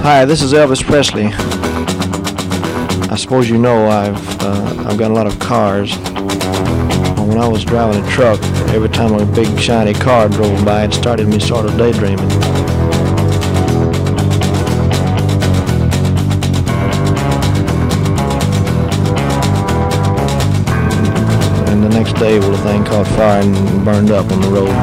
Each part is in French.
Hi, this is Elvis Presley. I suppose you know I've got a lot of cars. When I was driving a truck, every time a big shiny car drove by, it started me sort of daydreaming. And the next day, well, the thing caught fire and burned up on the road.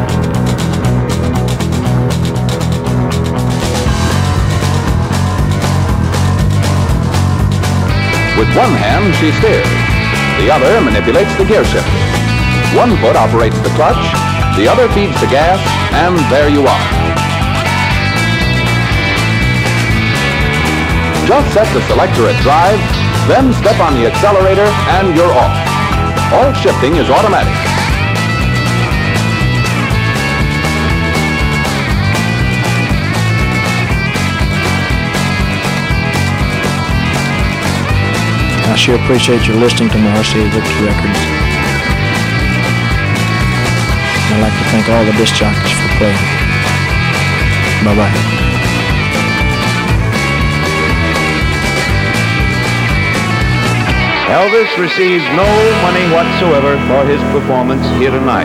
With one hand, she steers. The other manipulates the gear shifter. One foot operates the clutch, the other feeds the gas, and there you are. Just set the selector at drive, then step on the accelerator, and you're off. All shifting is automatic. I sure appreciate your listening to my RCA Victor records. I'd like to thank all the disc jockeys for playing. Bye-bye. Elvis receives no money whatsoever for his performance here tonight.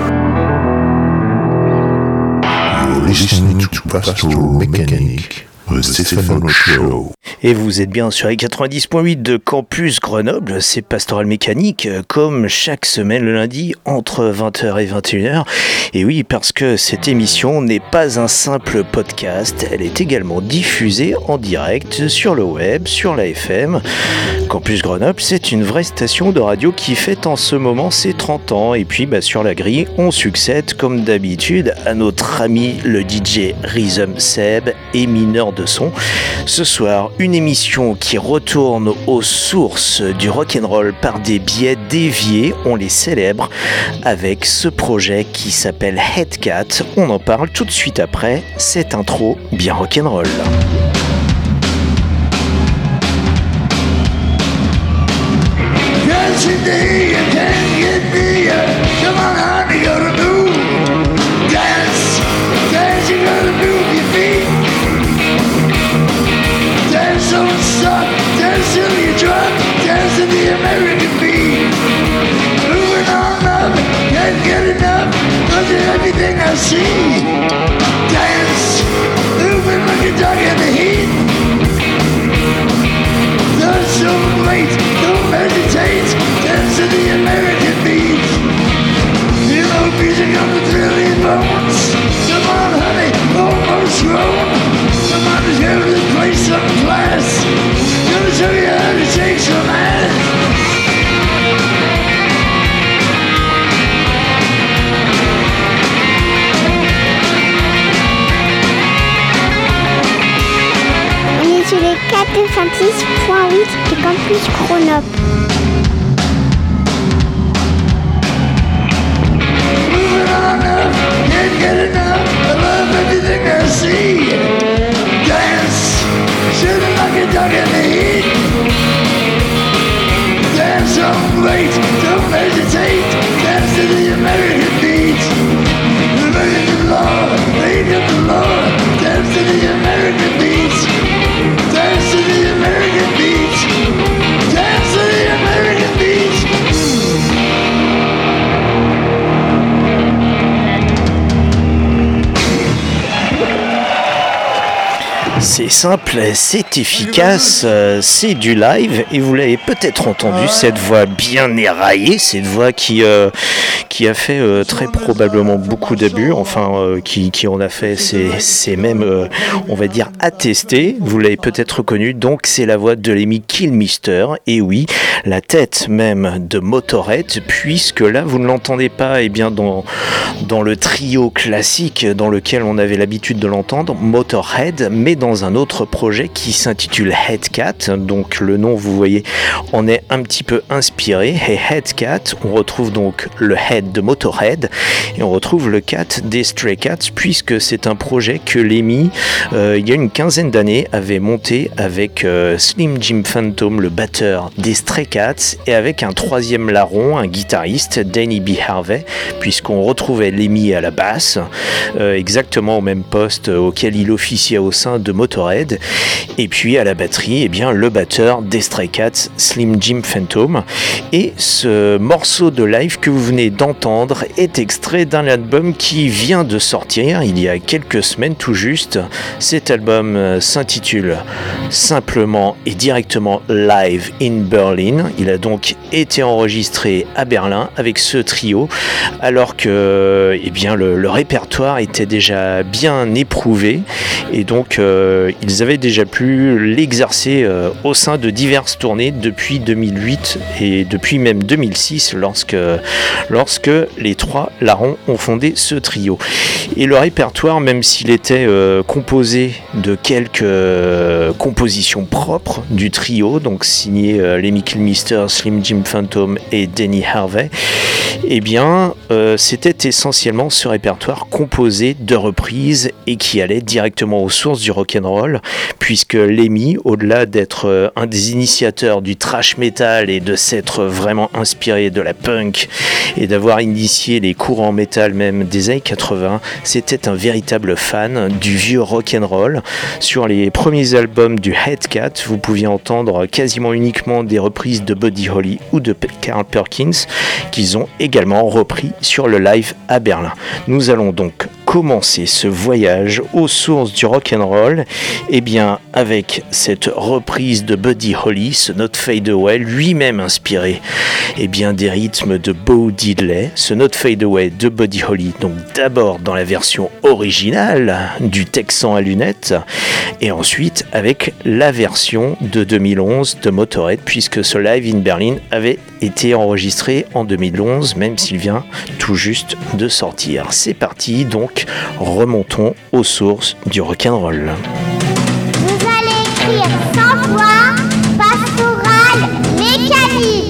You're listening to Pastoral Mechanic, the Stefano Show. Et vous êtes bien sur les 90.8 de Campus Grenoble, c'est Pastoral Mécanique, comme chaque semaine le lundi entre 20h et 21h. Et oui, parce que cette émission n'est pas un simple podcast, elle est également diffusée en direct sur le web, sur la FM. Campus Grenoble, c'est une vraie station de radio qui fête en ce moment ses 30 ans. Et puis sur la grille, on succède comme d'habitude à notre ami le DJ Rhythm Seb et mineur de son. Ce soir, une émission qui retourne aux sources du rock'n'roll par des biais déviés, on les célèbre avec ce projet qui s'appelle Headcat. On en parle tout de suite après cette intro bien rock'n'roll. Everything I see, dance, moving like a dog in the heat. Don't so wait, don't hesitate, dance to the American beat. You know music on the thrill your bones. Come on, honey, almost grown. Come on, let's go to this place, some class. Gonna show you how to shake some ass. Sur les 456.8 de Campus Grenoble. Moving on up, can't get enough. I love everything I see. Dance, shooting like a dog in the heat. Dance on great, don't hesitate. Dance to the American beat. The American law, made of the law. Dance to the American beat. Dance to the American beat. Dance to the American beat. C'est simple, c'est efficace, c'est du live et vous l'avez peut-être entendu, cette voix bien éraillée, cette voix qui a fait très probablement beaucoup d'abus, enfin qui en a fait, c'est même, on va dire, attesté, vous l'avez peut-être reconnu, donc c'est la voix de Lemmy Kilmister, et oui, la tête même de Motorhead, puisque là vous ne l'entendez pas bien dans le trio classique dans lequel on avait l'habitude de l'entendre, Motorhead, mais dans un autre projet qui s'intitule Headcat, donc le nom vous voyez en est un petit peu inspiré, et Headcat, on retrouve donc le Head de Motorhead et on retrouve le Cat des Stray Cats, puisque c'est un projet que Lemmy il y a une quinzaine d'années avait monté avec Slim Jim Phantom, le batteur des Stray Cats, et avec un troisième larron, un guitariste, Danny B. Harvey, puisqu'on retrouvait Lemmy à la basse, exactement au même poste auquel il officiait au sein de Motörhead. Et puis à la batterie, eh bien, le batteur des Stray Cats, Slim Jim Phantom. Et ce morceau de live que vous venez d'entendre est extrait d'un album qui vient de sortir il y a quelques semaines tout juste. Cet album s'intitule simplement et directement Live in Berlin. Il a donc été enregistré à Berlin avec ce trio, alors que eh bien, le répertoire était déjà bien éprouvé et donc ils avaient déjà pu l'exercer au sein de diverses tournées depuis 2008 et depuis même 2006 lorsque les trois larrons ont fondé ce trio. Et le répertoire, même s'il était composé de quelques compositions propres du trio, donc signé Lemmy Kilmister, Slim Jim Phantom et Denny Harvey, eh bien c'était essentiellement ce répertoire composé de reprises et qui allait directement aux sources du rock'n'roll, puisque Lemmy, au-delà d'être un des initiateurs du thrash metal et de s'être vraiment inspiré de la punk et d'avoir initié les courants metal même des années 80, c'était un véritable fan du vieux rock'n'roll. Sur les premiers albums du Headcat, vous pouviez entendre quasiment uniquement des reprises de Buddy Holly ou de Carl Perkins qu'ils ont également repris sur le live à Berlin. Nous allons donc commencer ce voyage aux sources du rock'n'roll, et bien avec cette reprise de Buddy Holly, ce Not Fade Away, lui-même inspiré et bien des rythmes de Bo Diddley, ce Not Fade Away de Buddy Holly, donc d'abord dans la version originale du Texan à lunettes, et ensuite avec la version de 2011 de Motörhead, puisque ce Live in Berlin avait été enregistré en 2011, même s'il vient tout juste de sortir. C'est parti, donc remontons aux sources du rock'n'roll. Vous allez écrire sans voix, pastorale, mécanique.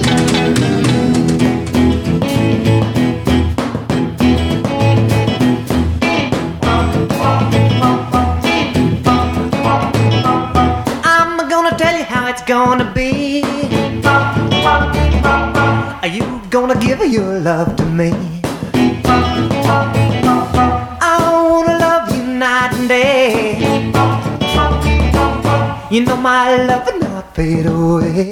I'm gonna tell you how it's gonna be. Are you gonna give your love to me? I wanna love you night and day. You know my love will not fade away.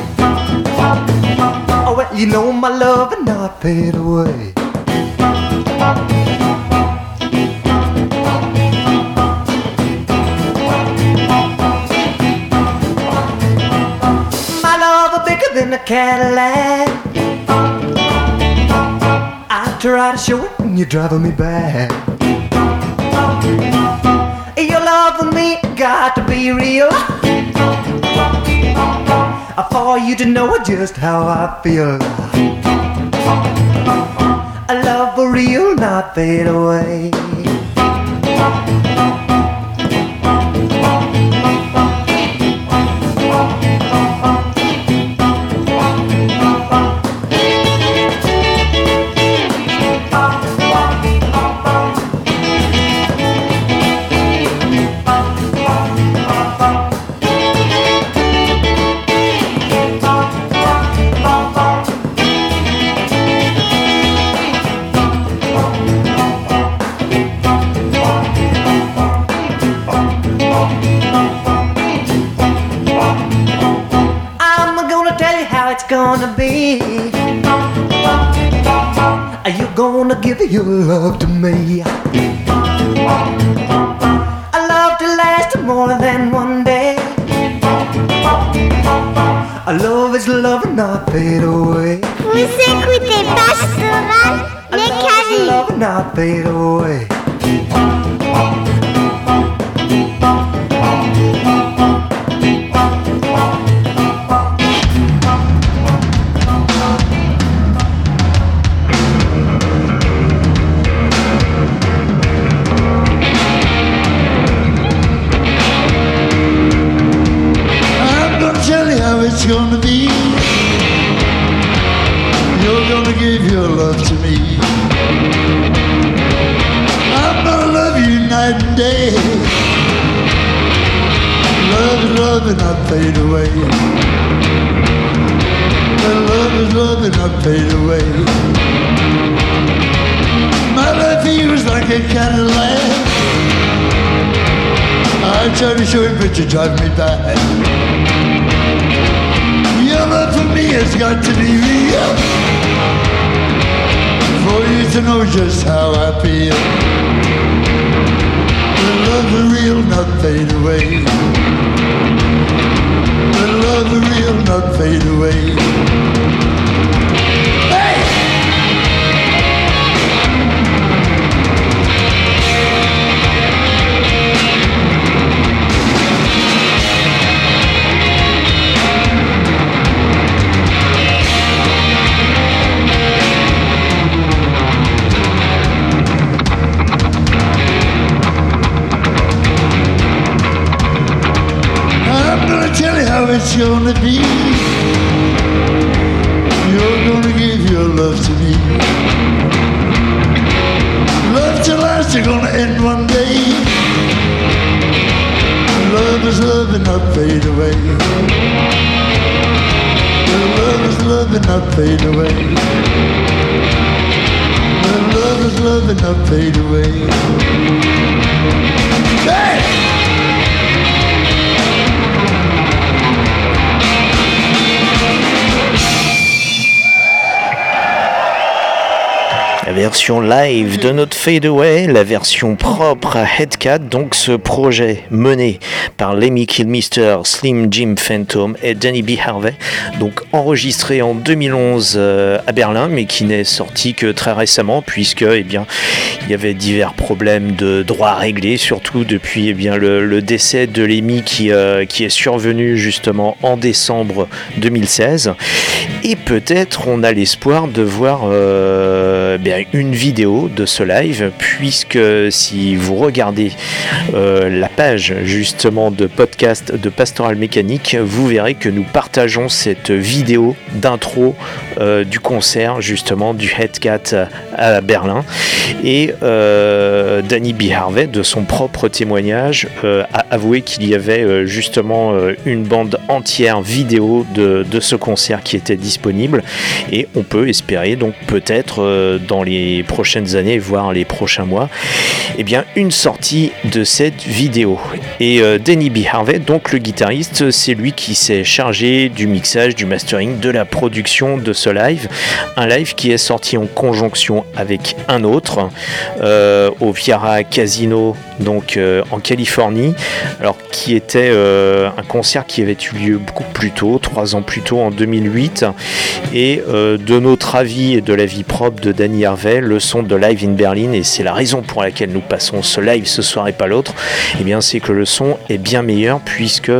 Oh, well, you know my love will not fade away. My love is bigger than a Cadillac. I try to show it when you're driving me back. Your love for me got to be real, for you to know just how I feel. A love for real, not fade away. Gonna be, are you gonna give your love to me? A love to last more than one day. A love is love and not fade away. Vous écoutez Pastoral, mécanique. Love and not fade away. It's gonna be. You're gonna give your love to me. I'm gonna love you night and day. Love is love and not fade away. Love is love and not fade away. My love feels like a Cadillac. I try to show you, but you drive me back. Your love for me has got to be real, for you to know just how I feel. The love is real, not fade away. The love is real, not fade away. Tell you how it's gonna be. You're gonna give your love to me. Love to last, you're gonna end one day. Love is love and not fade away. Love is love and not fade away. Love is love and not fade away. Hey! La version live de notre Fade Away, la version propre à Headcat, donc ce projet mené par Lemmy Kilmister, Slim Jim Phantom et Danny B. Harvey, donc enregistré en 2011 à Berlin, mais qui n'est sorti que très récemment, puisque il y avait divers problèmes de droits à régler, surtout depuis le décès de Lemmy qui est survenu justement en décembre 2016. Et peut-être on a l'espoir de voir une vidéo de ce live, puisque si vous regardez la page justement de podcast de Pastoral Mécanique, vous verrez que nous partageons cette vidéo d'intro du concert justement du Headcat à Berlin, et Danny B. Harvey, de son propre témoignage, a avoué qu'il y avait justement une bande entière vidéo de ce concert qui était disponible, et on peut espérer donc peut-être dans les prochaines années, voire les prochains mois, une sortie de cette vidéo. Et Danny B. Harvey, donc le guitariste, c'est lui qui s'est chargé du mixage, du mastering, de la production de ce live, un live qui est sorti en conjonction avec un autre au Viara Casino, donc en Californie, alors qui était un concert qui avait eu lieu beaucoup plus tôt, 3 ans plus tôt, en 2008, et de notre avis et de l'avis propre de Danny Harvey, le son de Live in Berlin, et c'est la raison pour laquelle nous passons ce live ce soir et pas l'autre, c'est que le son est bien meilleur, puisque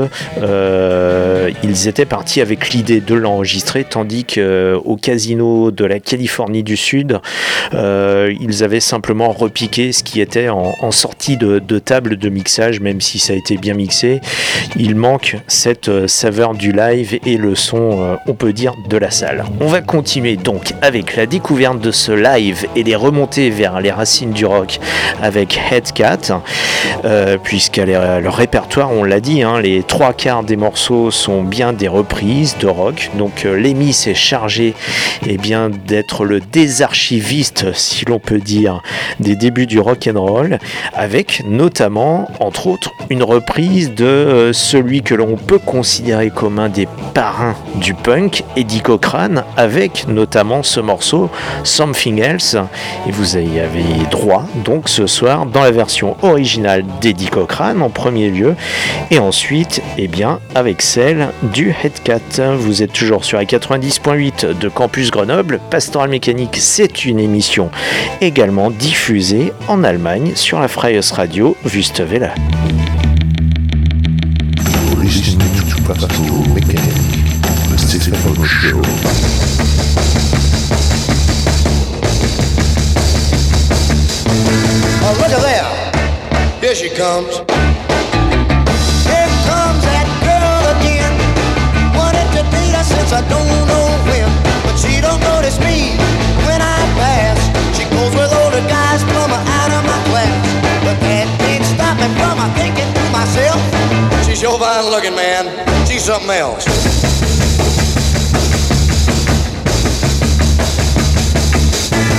ils étaient partis avec l'idée de l'enregistrer, tandis qu'au casino de la Californie du Sud, ils avaient simplement repiqué ce qui était en sortie de table de mixage. Même si ça a été bien mixé, il manque cette saveur du live et le son, on peut dire, de la salle. On va continuer donc avec la découverte de ce live et les remontées vers les racines du rock avec Headcat, puisque leur répertoire, on l'a dit, les 3/4 des morceaux sont bien des reprises de rock. Donc Lemmy s'est chargé d'être le désarchiviste, si l'on peut dire, des débuts du rock and roll, avec notamment, entre autres, une reprise de celui que l'on peut considérer comme un des parrains du punk, Eddie Cochran, avec notamment ce morceau Something Else. Et vous y avez droit donc ce soir dans la version originale d'Eddie Cochran en premier lieu, et ensuite avec celle du Headcat. Vous êtes toujours sur la 90.8 de Campus Grenoble. Pastoral Mécanique, c'est une émission également diffusée en Allemagne sur la Freies Radio Wüstewelle. You're listening to Pastoral Mécanique, the Stefano Show. Oh, look at there. Here she comes. Here comes that girl again. Wanted to date her since I don't know when, but she don't notice me when I pass. She goes with older guys, plumb out of my class, but that can't stop me from thinking to myself, she's sure fine looking, man. She's something else.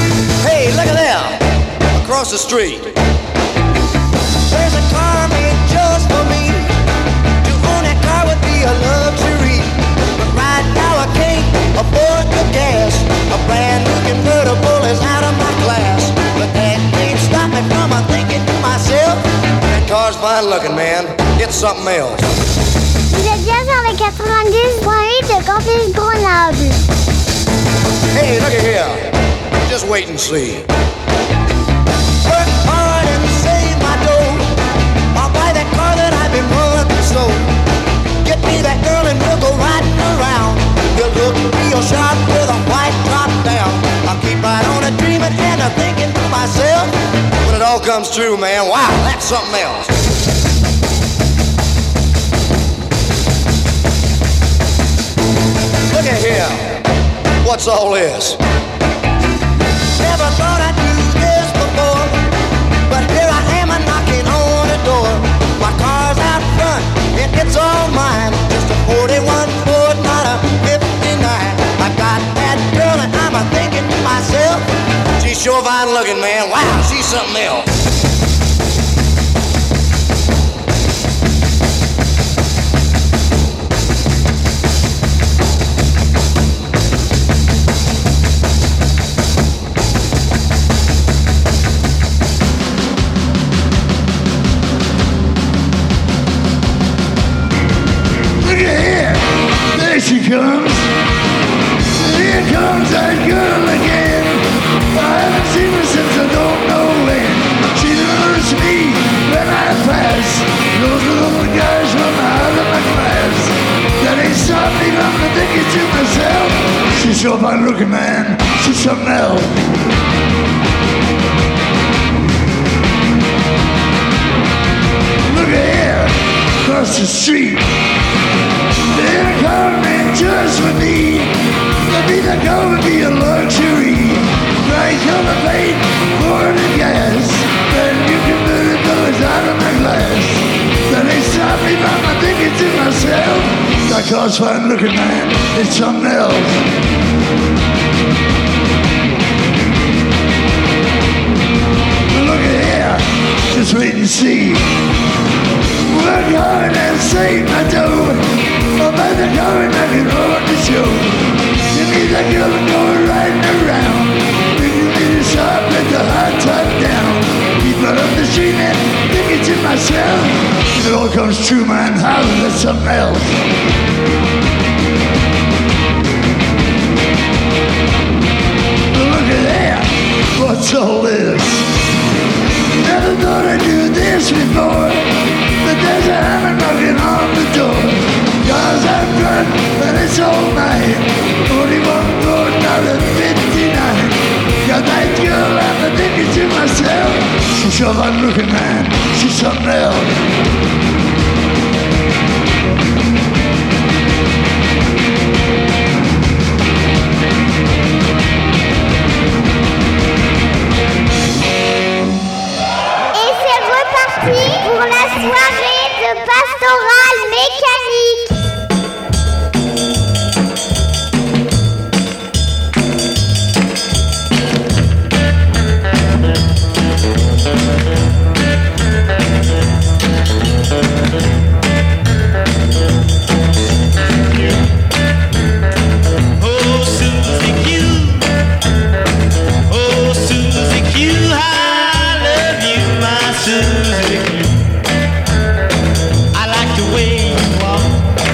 Hey, look at there. Across the street, there's a car named just for me. To own that car would be a luxury. But right now I can't afford the gas. A brand new convertible is out of my class. But that can't stop me from thinking to myself, that car's fine looking, man. It's something else. Vous êtes bien sur le 90.8 de Campus Grenoble. Hey, look at here. Just wait and see. Work hard and save my dough. I'll buy that car that I've been wanting so. Get me that girl and we'll go riding around. You'll look real sharp with a white top down. I'll keep right on a dreaming and a thinking to myself, when it all comes true, man, wow, that's something else. Look at here. What's all this? Never thought I'd do this before, but here I am a knocking on the door. My car's out front and it's all mine. Just a 41 Ford, not a 59. I got that girl and I'm a thinking to myself, she's sure fine looking, man. Wow, she's something else. She comes, here comes that girl again. I haven't seen her since I don't know when. She noticed me when I pass. Those little guys run out of my class. That ain't stopped me from thinking to myself, she's sure fine looking, man. She's something else. Look at here, across the street. They're coming just for me. Maybe the car would be a luxury. Bright color paint, pouring the gas. Then you can move the doors out of my glass. Then they stop me from thinking to myself, that car's fine looking, man, it's something else. Look at here, just wait and see. Work hard and save my dough. I'll buy the car and I can run the show. Give me that girl and go riding around. Bring me the shop with the hot top down. Keep right up the street and thinking to myself, if it all comes true, man, how is that something else? Look at that, what's all this? Never thought I'd do this before, but there's a hammer knocking on the door. Cars out front, and it's all mine. 41 Ford, not a 59. Got that girl, I'm thinking to myself, she's sure fine looking, man, she's something else. Et c'est reparti pour la soirée de Pastoral Mécanique. Susie Q. I like the way you walk.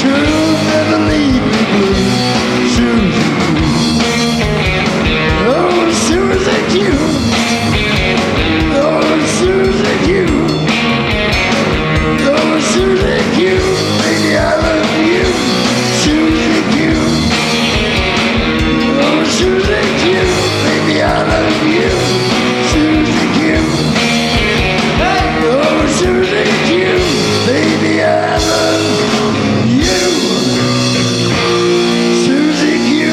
You'll never leave me blue, Susie Q. Oh, Susie Q. Oh, Susie Q. Oh, Susie Q. Baby, I love you, Susie Q. Oh, Susie Q. Baby, I love you, Susie Q. Oh, Susie Q. Baby, I love you, Susie Q.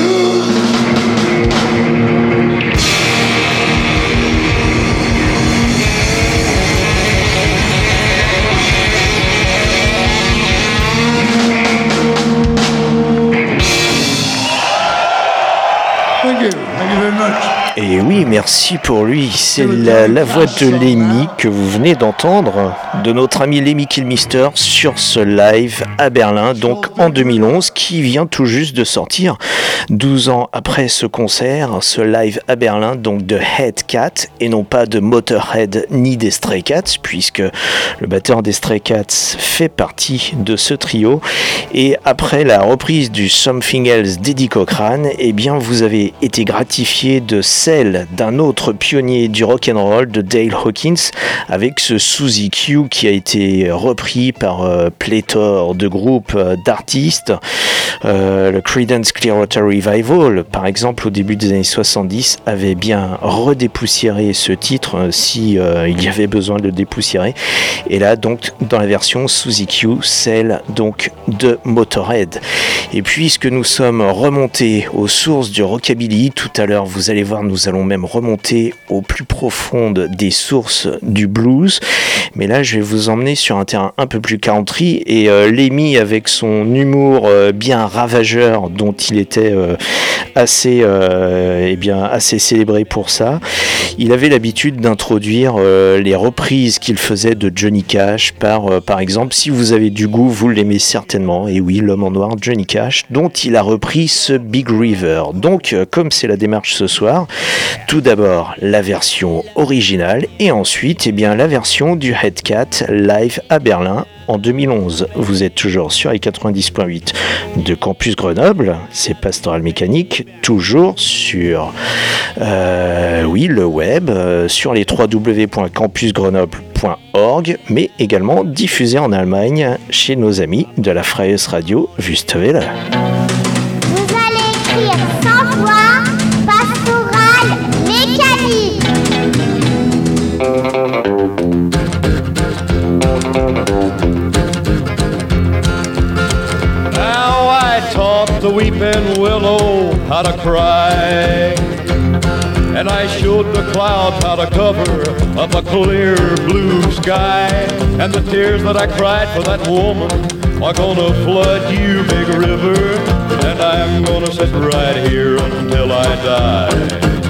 Thank you very much. Et oui, merci pour lui. C'est la voix de Lemmy que vous venez d'entendre, de notre ami Lemmy Kilmister sur ce live à Berlin, donc en 2011, qui vient tout juste de sortir. 12 ans après ce concert, ce live à Berlin, donc de Headcat, et non pas de Motorhead ni des Stray Cats, puisque le batteur des Stray Cats fait partie de ce trio. Et après la reprise du Something Else d'Eddie Cochran, eh bien vous avez été gratifié de celle d'un autre pionnier du rock'n'roll, de Dale Hawkins, avec ce Susie Q qui a été repris par pléthore de groupes d'artistes. Le Creedence Clearwater Revival, par exemple, au début des années 70, avait bien redépoussiéré ce titre si il y avait besoin de le dépoussiérer. Et là, donc, dans la version Susie Q, celle donc de Motorhead. Et puisque nous sommes remontés aux sources du rockabilly, tout à l'heure, vous allez voir, nous allons même remonter au plus profonde des sources du blues. Mais là, je vais vous emmener sur un terrain un peu plus country. Et Lemmy, avec son humour bien ravageur, dont il était assez célébré pour ça, il avait l'habitude d'introduire les reprises qu'il faisait de Johnny Cash par exemple, si vous avez du goût, vous l'aimez certainement. Et oui, l'homme en noir, Johnny Cash, dont il a repris ce Big River. Donc, comme c'est la démarche ce soir, tout d'abord la version originale et ensuite la version du Headcat live à Berlin en 2011. Vous êtes toujours sur les 90.8 de Campus Grenoble, c'est Pastoral Mécanique, toujours sur le web, sur les www.campusgrenoble.org, mais également diffusé en Allemagne chez nos amis de la Freies Radio Wüstewelle. Vous allez écrire sans voix, Pastoral Mécanique. Now I taught the weeping willow how to cry, and I showed the clouds how to cover up a clear blue sky. And the tears that I cried for that woman are gonna flood you, big river, and I'm gonna sit right here until I die.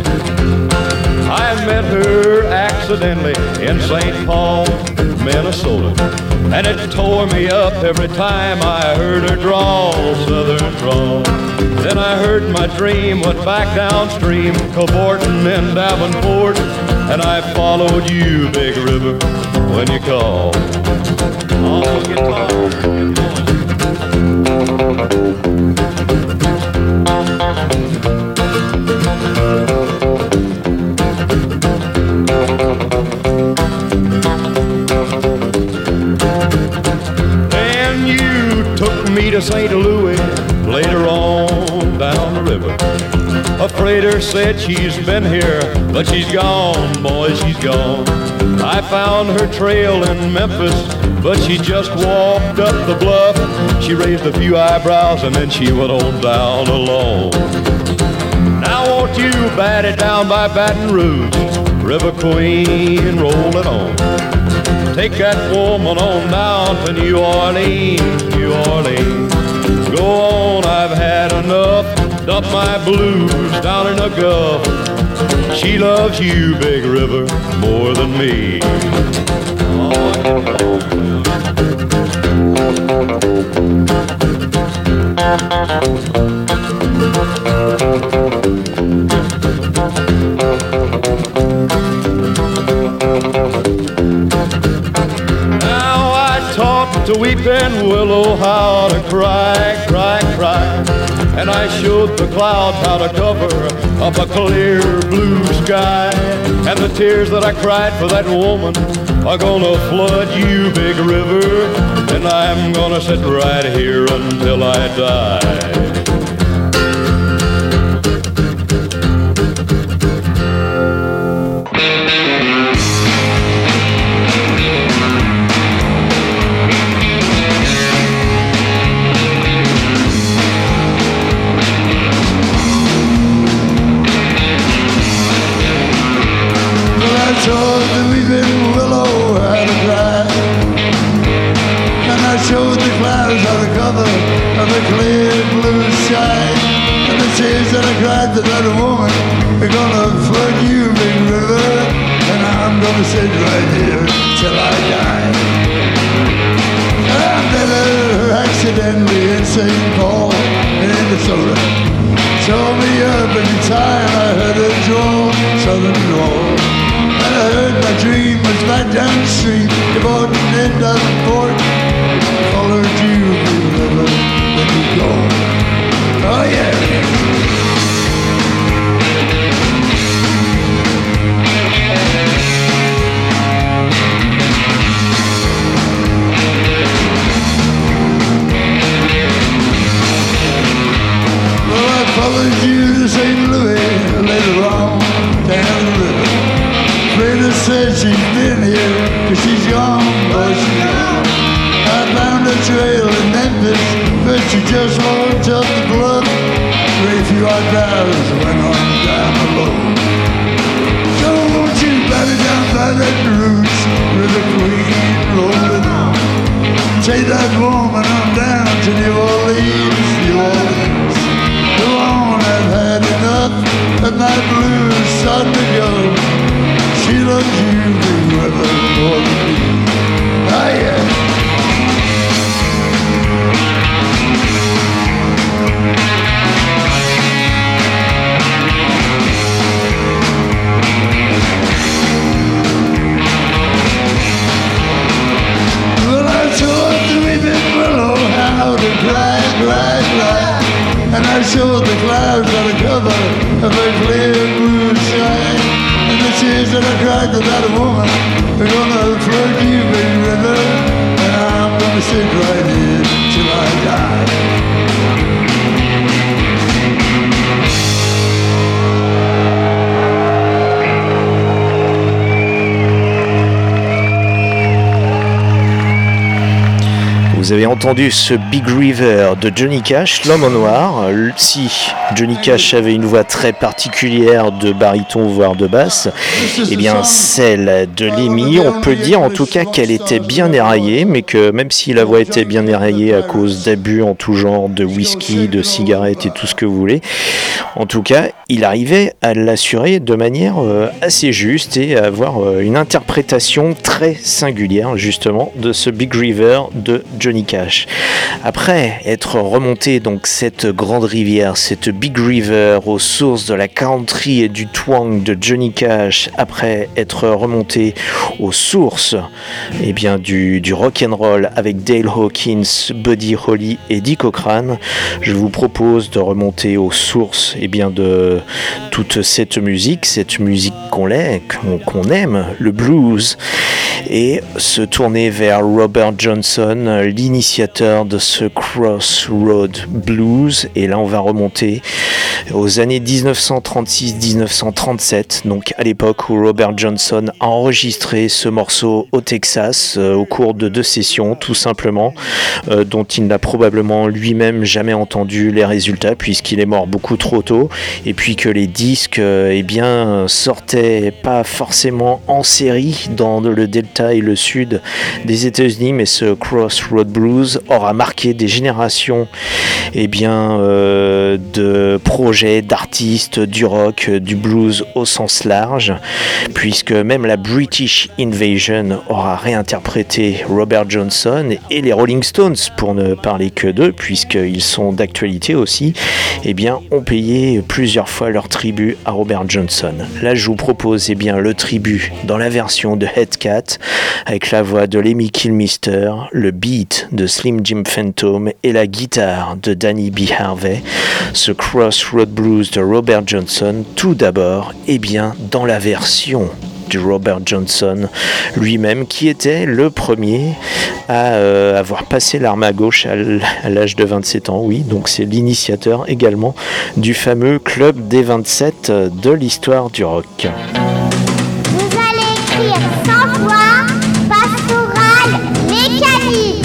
I met her accidentally in St. Paul, Minnesota, and it tore me up every time I heard her drawl, southern drawl. Then I heard my dream went back downstream, cavorting in Davenport, and I followed you, big river, when you called. Oh, guitar, Then you took me to St. Louis later on down the river. A freighter said she's been here, but she's gone, boy, she's gone. I found her trail in Memphis, but she just walked up the bluff. She raised a few eyebrows and then she went on down alone. Now won't you bat it down by Baton Rouge, River Queen, roll it on. Take that woman on down to New Orleans, New Orleans. Go on, I've had enough. Dump my blues down in the Gulf. She loves you, big river, more than me. Now I talked to weeping willow how to cry, cry, cry. And I showed the clouds how to cover up a clear blue sky. And the tears that I cried for that woman are gonna flood you, big river. And I'm gonna sit right here until I die. Showed the weeping willow how to cry, and I showed the clouds how to cover of the clear blue sky. And the tears that I cried to that woman are gonna flood you, big river. And I'm gonna sit right here till I die. I met her accidentally in St. Paul, Minnesota. Told me up every time I heard her drawl, southern drawl. I heard my dream was right down the street, about the end of the port. Followed you, blue river, let me go. Oh yeah. Well, I followed you to St. Louis, later on, down the river. Rita said she's been here, cause she's gone, boy, she's gone. I found a trail in Memphis, but she just walked up the bluff. Very few odd drivers went on down the road. So won't you batter down by that roots, with the queen rolling on. Take that woman on down to New Orleans, New Orleans. Go on, I've had enough of my blues, start to go. She loves you, big river, more than me. Ah, yeah. Well, I taught the weeping willow how to cry, cry, cry. And I showed the clouds how to cover of a clear blue sky. And the tears that I cried to that woman are gonna flood you, big river. And I'm gonna sit right here till I die. Vous avez entendu ce Big River de Johnny Cash, l'homme en noir. Si Johnny Cash avait une voix très particulière de baryton voire de basse, eh bien celle de Lemmy, on peut dire en tout cas qu'elle était bien éraillée, mais que même si la voix était bien éraillée à cause d'abus en tout genre, de whisky, de cigarettes et tout ce que vous voulez, en tout cas il arrivait à l'assurer de manière assez juste et à avoir une interprétation très singulière justement de ce Big River de Johnny Cash. Après être remonté donc cette grande rivière, cette Big River aux sources de la country et du twang de Johnny Cash, après être remonté aux sources eh bien, du rock and roll avec Dale Hawkins, Buddy Holly et Dick Cochrane, je vous propose de remonter aux sources eh bien, de toute cette musique qu'on aime, le blues, et se tourner vers Robert Johnson, l'initiateur de ce Crossroad Blues. Et là on va remonter aux années 1936-1937, donc à l'époque où Robert Johnson a enregistré ce morceau au Texas au cours de 2 sessions tout simplement, dont il n'a probablement lui-même jamais entendu les résultats puisqu'il est mort beaucoup trop tôt, et puis que les disques eh bien, sortaient pas forcément en série dans le delta et le sud des États-Unis, mais ce Crossroad Blues aura marqué des générations eh bien, de projets, d'artistes, du rock, du blues au sens large, puisque même la British Invasion aura réinterprété Robert Johnson, et les Rolling Stones, pour ne parler que d'eux, puisqu'ils sont d'actualité aussi, eh bien, ont payé plusieurs fois leur tribut à Robert Johnson. Là, je vous propose eh bien, le tribut dans la version de Headcat, avec la voix de Lemmy Kilmister, le beat de Slim Jim Phantom et la guitare de Danny B. Harvey, ce Crossroad Blues de Robert Johnson, tout d'abord, eh bien, dans la version du Robert Johnson lui-même, qui était le premier à avoir passé l'arme à gauche à l'âge de 27 ans. Oui, donc c'est l'initiateur également du fameux Club des 27 de l'histoire du rock. Vous allez écrire 100 fois Pastoral Mécanique.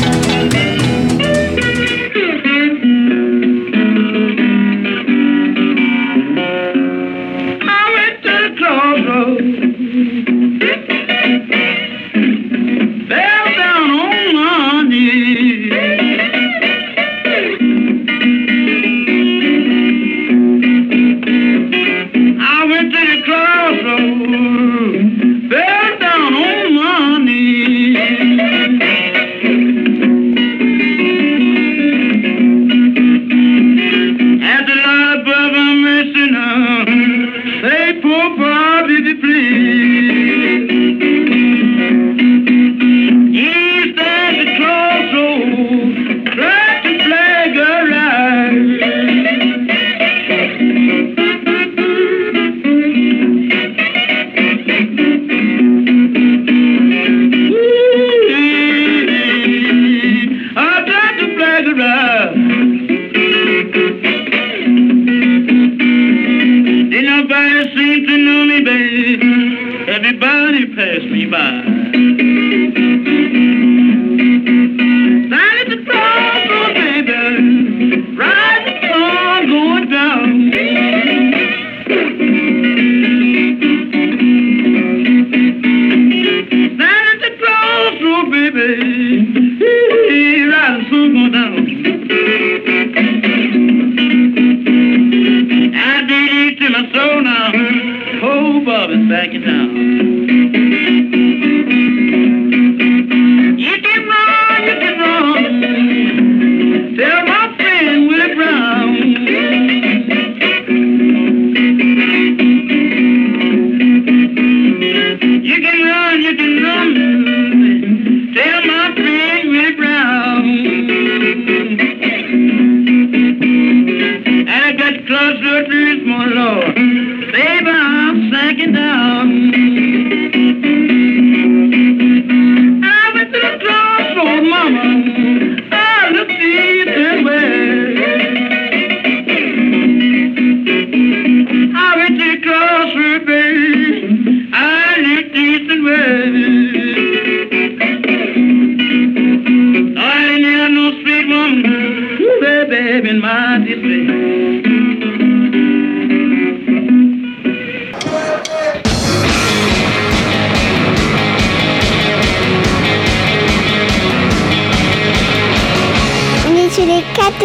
Sur les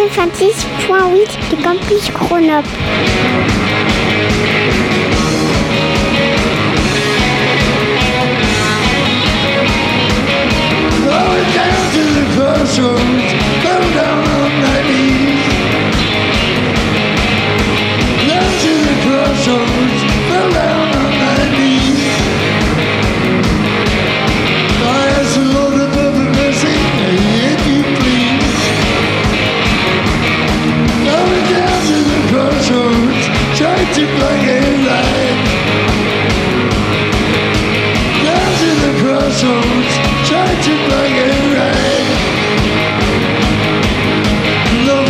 426.8 du campus Grenoble. Going down to the crossroads, go down on my knees. Down to the crossroads, go down on my knees. I ask the Lord above the mercy, if you please. Going down to the crossroads, try to play it right. Down to the crossroads, try to play it right. No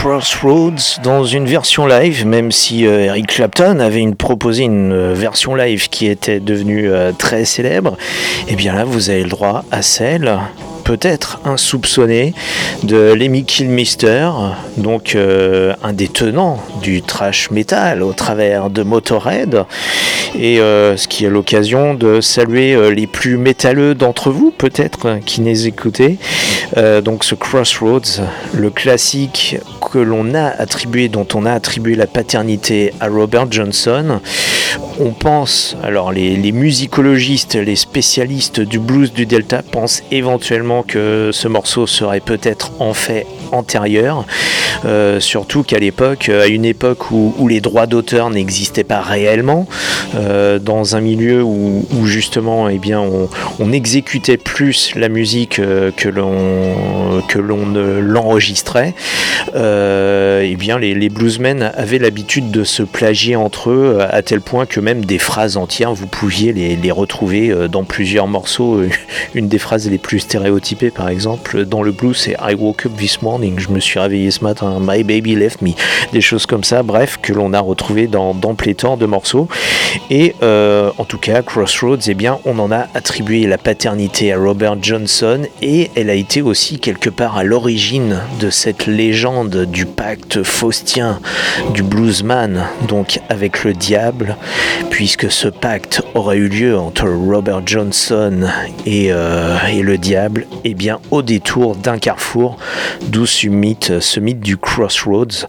Crossroads dans une version live, même si Eric Clapton avait proposé une version live qui était devenue très célèbre. Et bien là, vous avez le droit à celle, peut-être insoupçonné, de Lemmy Kilmister, donc un des tenants du thrash metal au travers de Motorhead, et ce qui est l'occasion de saluer les plus métalleux d'entre vous, peut-être, qui les écoutez. Donc ce Crossroads, le classique que l'on a attribué, dont on a attribué la paternité à Robert Johnson. On pense, alors les musicologistes, les spécialistes du blues du Delta pensent éventuellement que ce morceau serait peut-être en fait antérieur, surtout qu'à l'époque, à une époque où les droits d'auteur n'existaient pas réellement, dans un milieu où justement on exécutait plus la musique que l'on ne l'enregistrait, et bien les bluesmen avaient l'habitude de se plagier entre eux à tel point que même des phrases entières vous pouviez les retrouver dans plusieurs morceaux. Une des phrases les plus stéréotypées par exemple dans le blues, c'est I woke up this morning, je me suis réveillé ce matin, my baby left me, des choses comme ça, bref, que l'on a retrouvé dans pléthore de morceaux. Et en tout cas Crossroads, eh bien on en a attribué la paternité à Robert Johnson, et elle a été aussi quelque part à l'origine de cette légende du pacte faustien du bluesman, donc avec le diable, puisque ce pacte aurait eu lieu entre Robert Johnson et le diable, et bien au détour d'un carrefour, d'où ce mythe du Crossroads,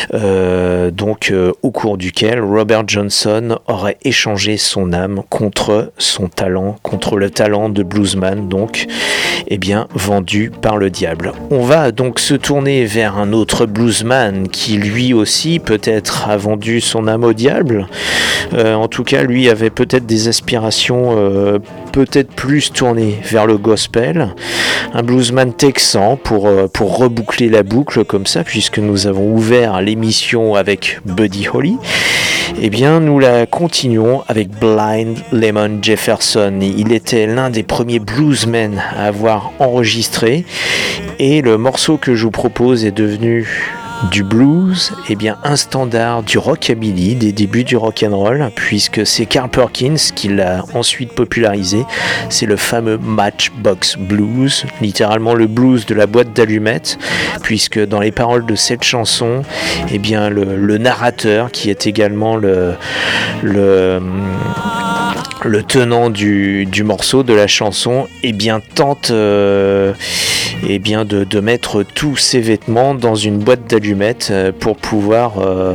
au cours duquel Robert Johnson aurait échangé son âme contre son talent, contre le talent de bluesman, donc vendu par le diable. On va donc se tourner vers un autre bluesman qui lui aussi peut-être a vendu son âme au diable. En tout cas, lui avait peut-être des aspirations peut-être plus tournées vers le gospel. Un bluesman texan pour reboucler la boucle comme ça, puisque nous avons ouvert l'émission avec Buddy Holly. Eh bien, nous la continuons avec Blind Lemon Jefferson. Il était l'un des premiers bluesmen à avoir enregistré, et le morceau que je vous propose est devenu du blues, un standard du rockabilly, des débuts du rock'n'roll, puisque c'est Carl Perkins qui l'a ensuite popularisé. C'est le fameux Matchbox Blues, littéralement le blues de la boîte d'allumettes, puisque dans les paroles de cette chanson, le narrateur, qui est également le tenant du morceau, de la chanson, tente de mettre tous ses vêtements dans une boîte d'allumettes pour pouvoir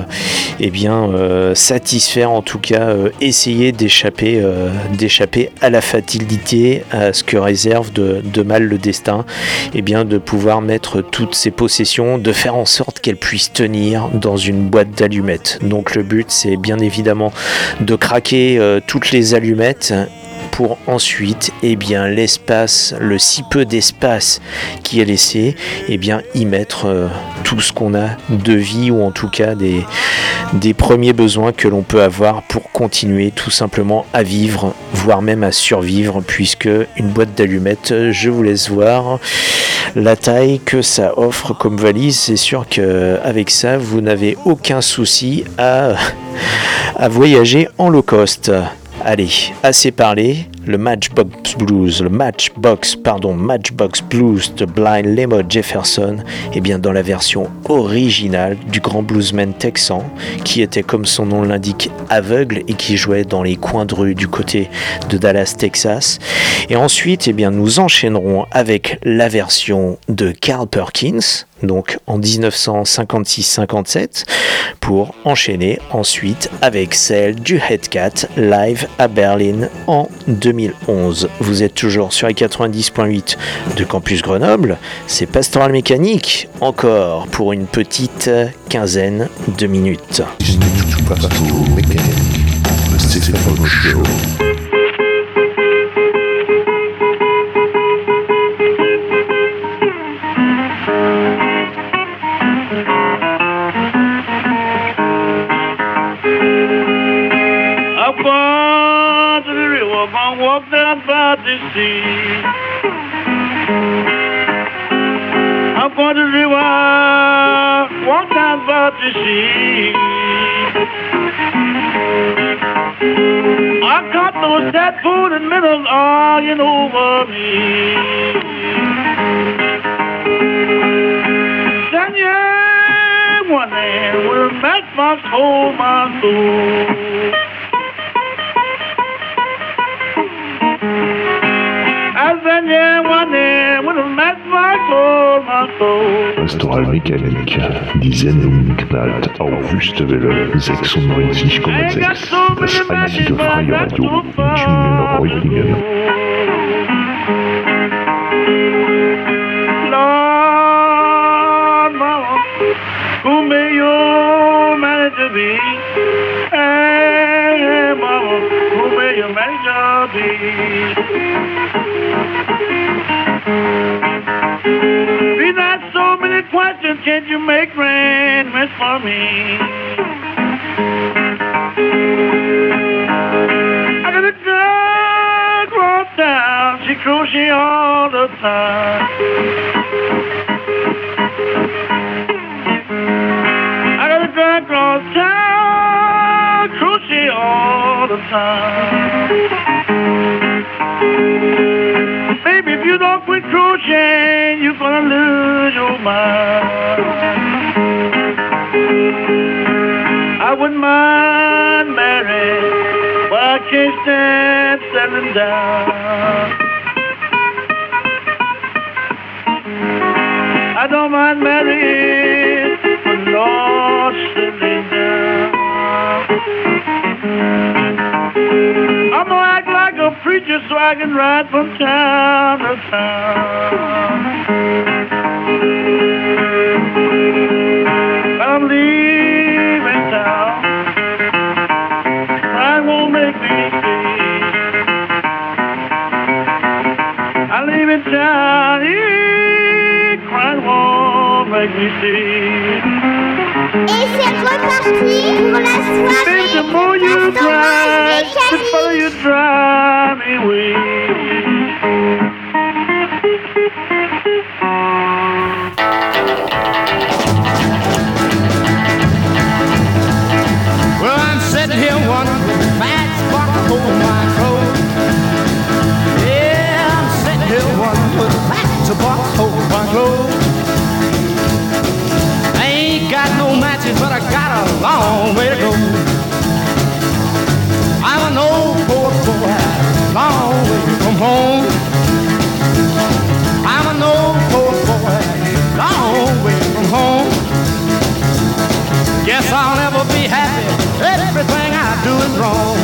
satisfaire, en tout cas essayer d'échapper à la fatalité, à ce que réserve de mal le destin, de pouvoir mettre toutes ses possessions, de faire en sorte qu'elles puissent tenir dans une boîte d'allumettes. Donc le but, c'est bien évidemment de craquer toutes les allumettes pour ensuite, l'espace, le si peu d'espace qui est laissé, y mettre tout ce qu'on a de vie, ou en tout cas des premiers besoins que l'on peut avoir pour continuer tout simplement à vivre, voire même à survivre, puisque une boîte d'allumettes, je vous laisse voir la taille que ça offre comme valise. C'est sûr qu'avec ça, vous n'avez aucun souci à voyager en low cost. Allez, assez parlé, le Matchbox Blues de Blind Lemon Jefferson, dans la version originale du grand bluesman texan, qui était, comme son nom l'indique, aveugle et qui jouait dans les coins de rue du côté de Dallas, Texas. Et ensuite, nous enchaînerons avec la version de Carl Perkins, donc en 1956-57, pour enchaîner ensuite avec celle du Headcat live à Berlin en 2011. Vous êtes toujours sur les 90.8 de Campus Grenoble, c'est Pastoral Mécanique, encore pour une petite quinzaine de minutes. Pastoral Mécanique, le Stéphano Show. Walk down by the sea. I'm going to the river, walk my butter sheet. I caught those cat food and middles arguing over me. Then one hand with a matchbox hold my soul. Pastoral Mécanique, Sendung knallt auf Wüstewelle 96,6. Das einzige freie Radio in Tübingen-Reutlingen. Lord, Mama, who may you manage to be? Hey, Mama, who may you manage to be? We've got so many questions, can't you make arrangements for me? I got a girl across town, she crochet all the time. I got a girl across town, crochet all the time. Baby, if you don't quit crocheting, you're gonna lose your mind. I wouldn't mind marrying, but I can't stand settling down. I don't mind marrying, but not settling down. I'm gonna act like a preacher so I can ride from town to town. I'm leaving town. Pride won't make me stay. I'm leaving town. Pride won't make me stay. Et c'est reparti pour la soirée. Baby, the more you drive, the further you drive me away. Well, I'm sitting here wondering, matchbox hold my clothes. Yeah, I'm sitting here wondering, matchbox hold my clothes. I ain't got no matches, but I got a long way to go. I'm an old poor boy, long way from home. I'm an old poor boy, long way from home. Guess I'll never be happy, everything I do is wrong.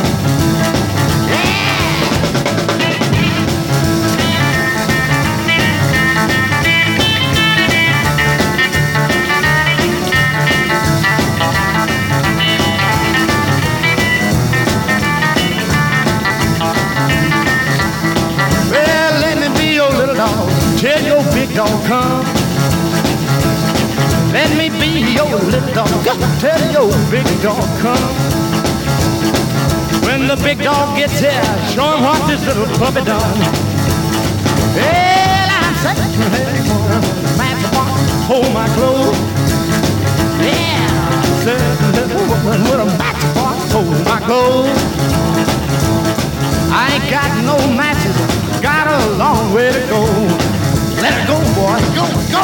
Tell your big dog come. Let me be your little dog. Tell your big dog come. When the big dog gets here, show him what this little puppy done. Well, I'm sitting here, matchbox, hold my clothes. Yeah, sitting little woman with a matchbox, hold my clothes. I ain't got no matches, got a long way to go. Let it go, boy. Go, go.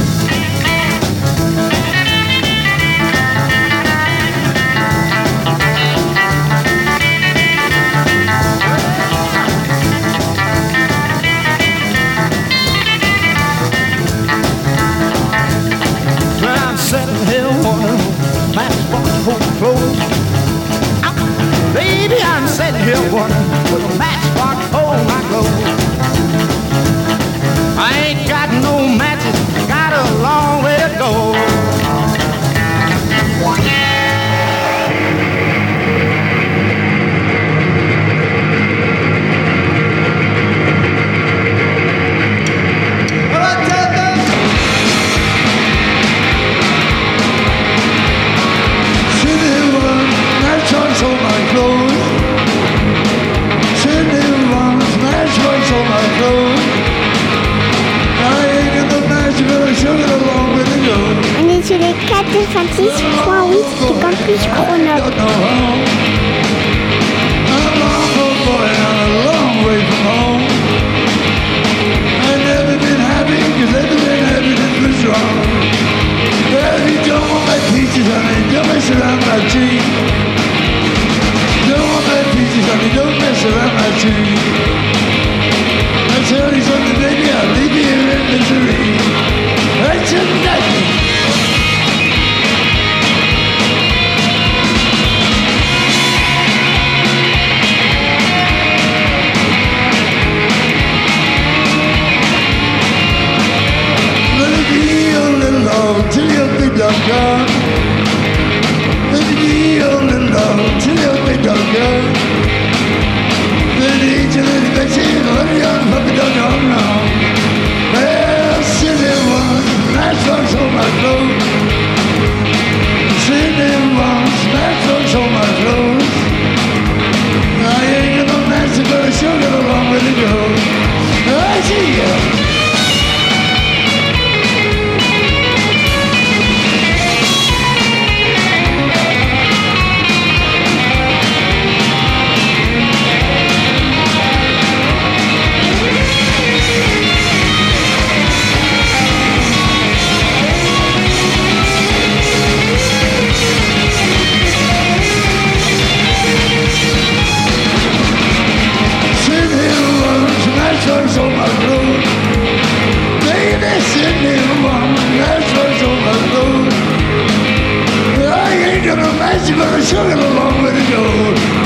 When I'm sitting here wondering, matchbox hold clothes. Baby, I'm sitting here wondering, with a matchbox hold my clothes. I ain't got no matches, got a long way to go. Sitting here, matchbox hold my clothes. Sitting 96.8 du Campus Grenoble. Don't mess around my tree. I tell you something, baby, I'll leave you here in misery. That's a nightmare. Let it be your little love till your big dog gone. Let it be your little love till your big dog gone. Puppy dog gone wrong. Well, silly one, that's what's on my clothes. Silly one, that's what's on my clothes. I ain't got no master, but I sure got a long way to go. I see ya. That's what's on my road. Baby, send me one. That's what's on my road. I ain't gonna match you, but I sure got a long way to go.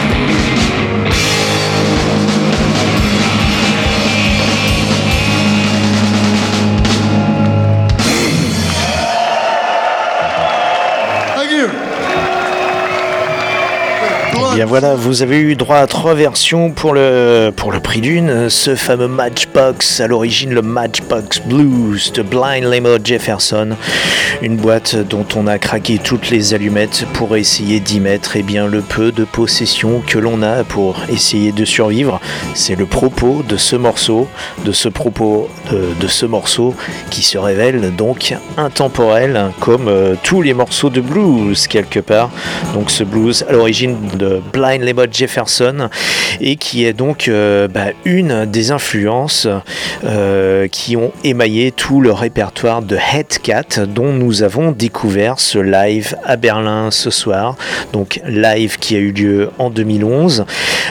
Bien voilà, vous avez eu droit à 3 versions pour le prix d'une. Ce fameux Matchbox, à l'origine le Matchbox Blues de Blind Lemon Jefferson, une boîte dont on a craqué toutes les allumettes pour essayer d'y mettre le peu de possession que l'on a pour essayer de survivre. C'est le propos de ce morceau, de ce morceau qui se révèle donc intemporel comme tous les morceaux de blues quelque part. Donc ce blues à l'origine de Blind Lemon Jefferson et qui est donc une des influences qui ont émaillé tout le répertoire de Headcat dont nous avons découvert ce live à Berlin ce soir, donc live qui a eu lieu en 2011.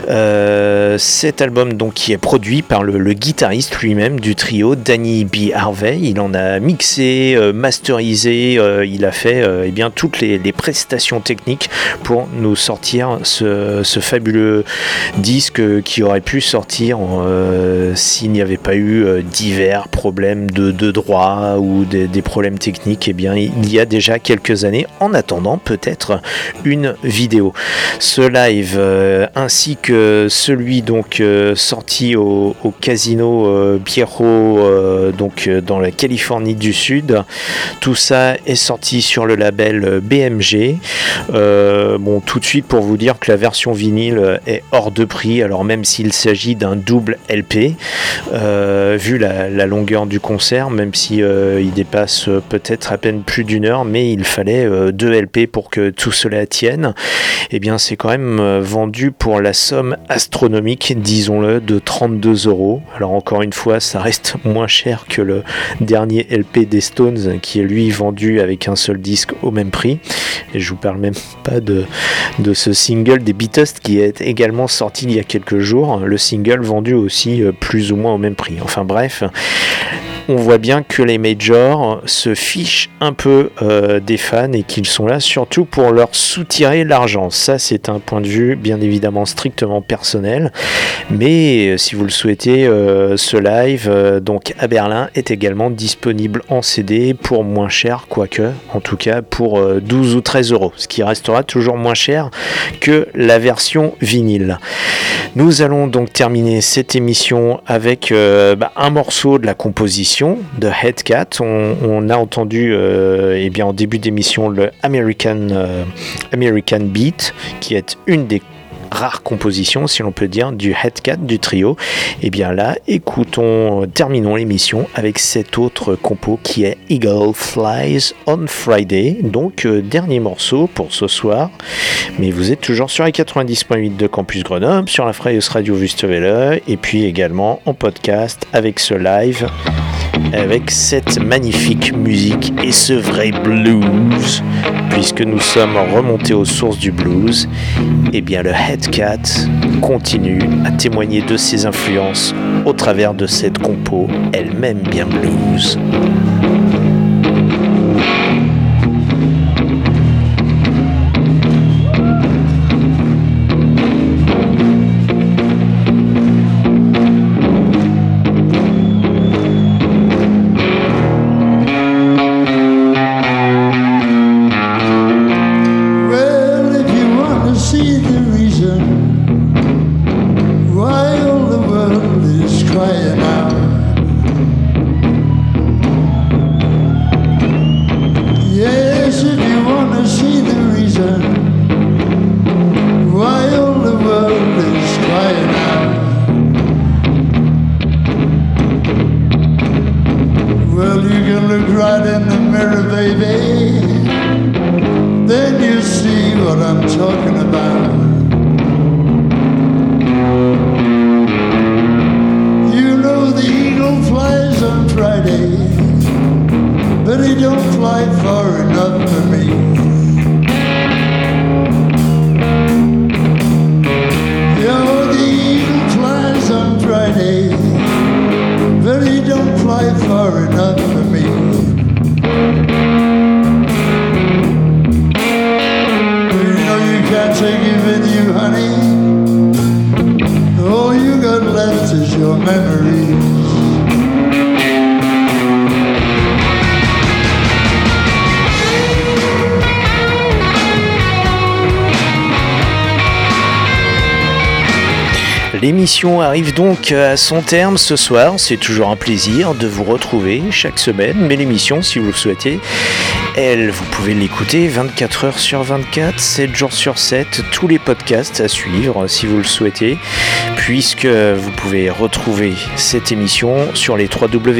Cet album donc qui est produit par le guitariste lui-même du trio, Danny B. Harvey. Il en a mixé, masterisé, il a fait toutes les prestations techniques pour nous sortir ce fabuleux disque qui aurait pu sortir s'il n'y avait pas eu divers problèmes de droit ou des problèmes techniques. Il y a déjà quelques années, en attendant peut-être une vidéo. Ce live ainsi que celui donc sorti au Casino Pierrot dans la Californie du Sud, tout ça est sorti sur le label BMG. Tout de suite pour vous dire que la version vinyle est hors de prix, alors même s'il s'agit d'un double LP, vu la longueur du concert, même si il dépasse peut-être à peine plus d'une heure, mais il fallait 2 LP pour que tout cela tienne. C'est quand même vendu pour la somme astronomique, disons-le, de 32 €. Alors encore une fois, ça reste moins cher que le dernier LP des Stones qui est lui vendu avec un seul disque au même prix. Et je vous parle même pas de ce single des Beatles qui est également sorti il y a quelques jours, le single vendu aussi plus ou moins au même prix. Enfin bref, on voit bien que les majors se fichent un peu des fans et qu'ils sont là surtout pour leur soutirer l'argent. Ça, c'est un point de vue bien évidemment strictement personnel, mais si vous le souhaitez, ce live donc à Berlin est également disponible en CD pour moins cher, quoique en tout cas pour 12 ou 13 €, ce qui restera toujours moins cher que la version vinyle. Nous allons donc terminer cette émission avec un morceau de la composition de Headcat. On a entendu en début d'émission le American Beat, qui est une des rare composition, si l'on peut dire, du Headcat du trio. Et bien là, terminons l'émission avec cet autre compo qui est Eagle Flies on Friday. Donc dernier morceau pour ce soir. Mais vous êtes toujours sur les 90.8 de Campus Grenoble, sur la Freies Radio Wüstewelle, et puis également en podcast avec ce live, avec cette magnifique musique et ce vrai blues, puisque nous sommes remontés aux sources du blues. Et bien le Headcat continue à témoigner de ses influences au travers de cette compo, elle-même bien blues. L'émission arrive donc à son terme ce soir. C'est toujours un plaisir de vous retrouver chaque semaine. Mais l'émission, si vous le souhaitez, vous pouvez l'écouter 24 heures sur 24, 7 jours sur 7. Tous les podcasts à suivre si vous le souhaitez, puisque vous pouvez retrouver cette émission sur les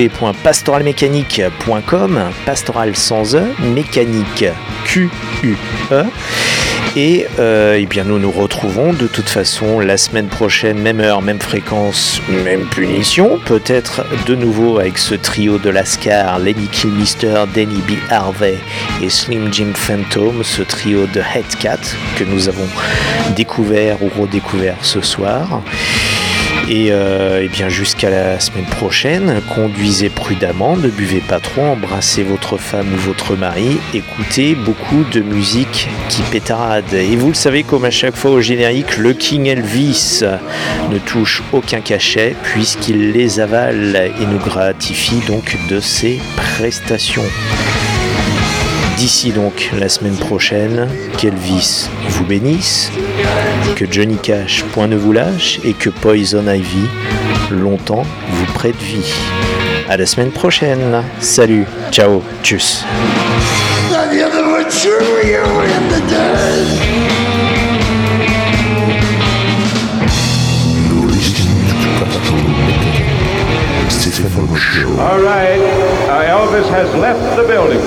www.pastoralmechanique.com, pastoral sans E, mécanique Q-U-E. Et bien nous nous retrouvons de toute façon la semaine prochaine, même heure, même fréquence, même punition, peut-être de nouveau avec ce trio de Lascar, Lenny Kilmister, Denny B. Harvey et Slim Jim Phantom, ce trio de Headcat que nous avons découvert ou redécouvert ce soir. Et bien jusqu'à la semaine prochaine, conduisez prudemment, ne buvez pas trop, embrassez votre femme ou votre mari, écoutez beaucoup de musique qui pétarade. Et vous le savez, comme à chaque fois au générique, le King Elvis ne touche aucun cachet puisqu'il les avale et nous gratifie donc de ses prestations. D'ici donc la semaine prochaine, qu'Elvis vous bénisse, que Johnny Cash point ne vous lâche et que Poison Ivy longtemps vous prête vie. À la semaine prochaine. Salut, ciao, tchuss. All right, Elvis has left the building.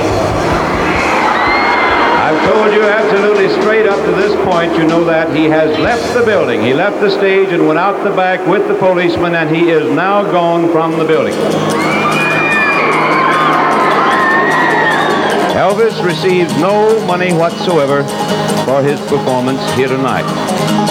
I've told you absolutely straight up to this point, you know that he has left the building. He left the stage and went out the back with the policeman, and he is now gone from the building. Elvis receives no money whatsoever for his performance here tonight.